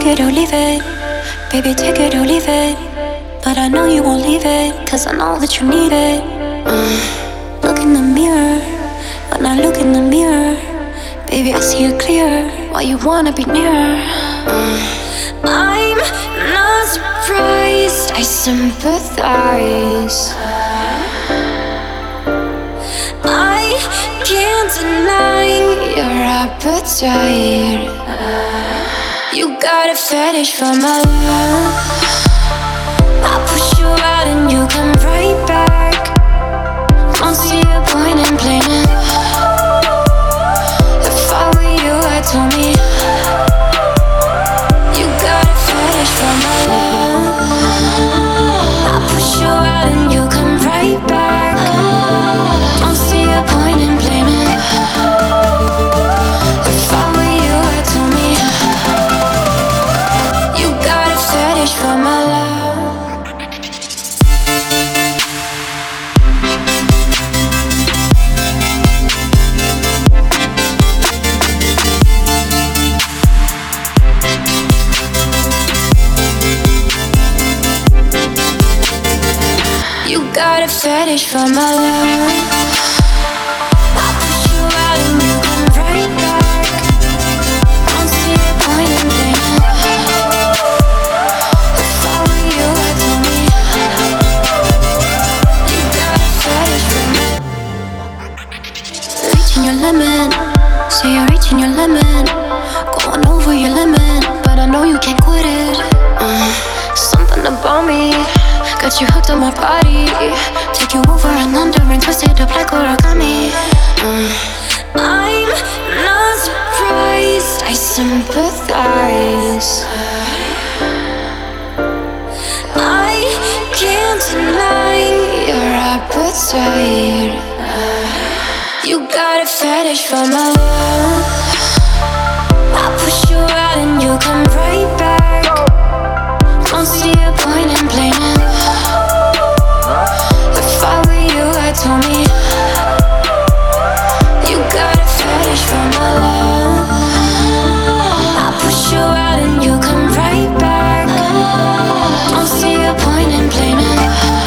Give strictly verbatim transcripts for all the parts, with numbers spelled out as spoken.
it or leave it. Baby, take it or leave it. But I know you won't leave it, cause I know that you need it. uh, Look in the mirror. When I look in the mirror, baby, I see it clear. Why you wanna be near? uh, I'm not surprised, I sympathize. I can't deny your appetite. You got a fetish for my love. I push you out and you come right back. Don't see a point in playing it. If I were you, I'd tell me. You got a fetish for my love. I push you out and you come right back. Don't see a point in playing it. If I were you, I'd tell me. You got a fetish for my love. You got a fetish for my love. I push you out and you come right back. Don't see a point in playing it. If I were you, I'd tell me. You got a fetish for me. Reaching your limit, say you're reaching your limit. Going over your limit, but I know you can't quit it. uh, Something about me got you hooked on my body. Take you over and under and twist it up like origami. uh, I'm not surprised, I sympathize. I can't deny your appetite. You got a fetish for my love. I push you out and you come right back. Don't see a point in playing it. If I were you, I'd tell me. You got a fetish for my love. I push you out and you come right back. Don't see a point in playing it.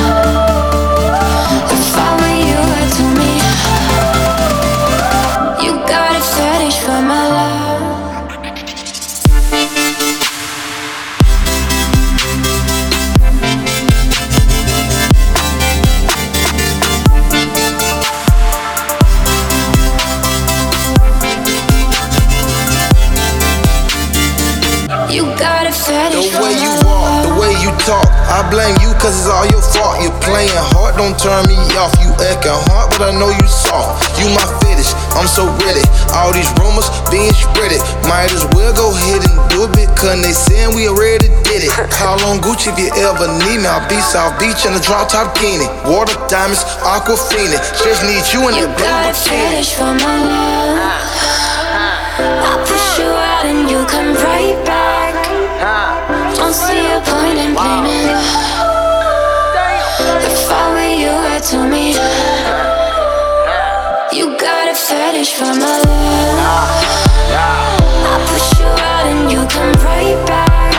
If I were you, I'd tell me. You got a fetish for my love. You got a fetish The for way my you love. walk, the way you talk, I blame you cause it's all your fault. You're playing hard, don't turn me off. You acting hard, but I know you soft. You my fetish, I'm so ready. All these rumors being spreaded. Might as well go ahead and do it because they saying we already did it. Call on Gucci if you ever need me. I'll be South Beach in a drop top bikini. Water diamonds, Aquafina. Just need you in You that got a blue fetish for my love. I push you out and you come right back. Don't see a point in playing it. If I were you, I'd tell me. You got a fetish for my love. I push you out and you come right back.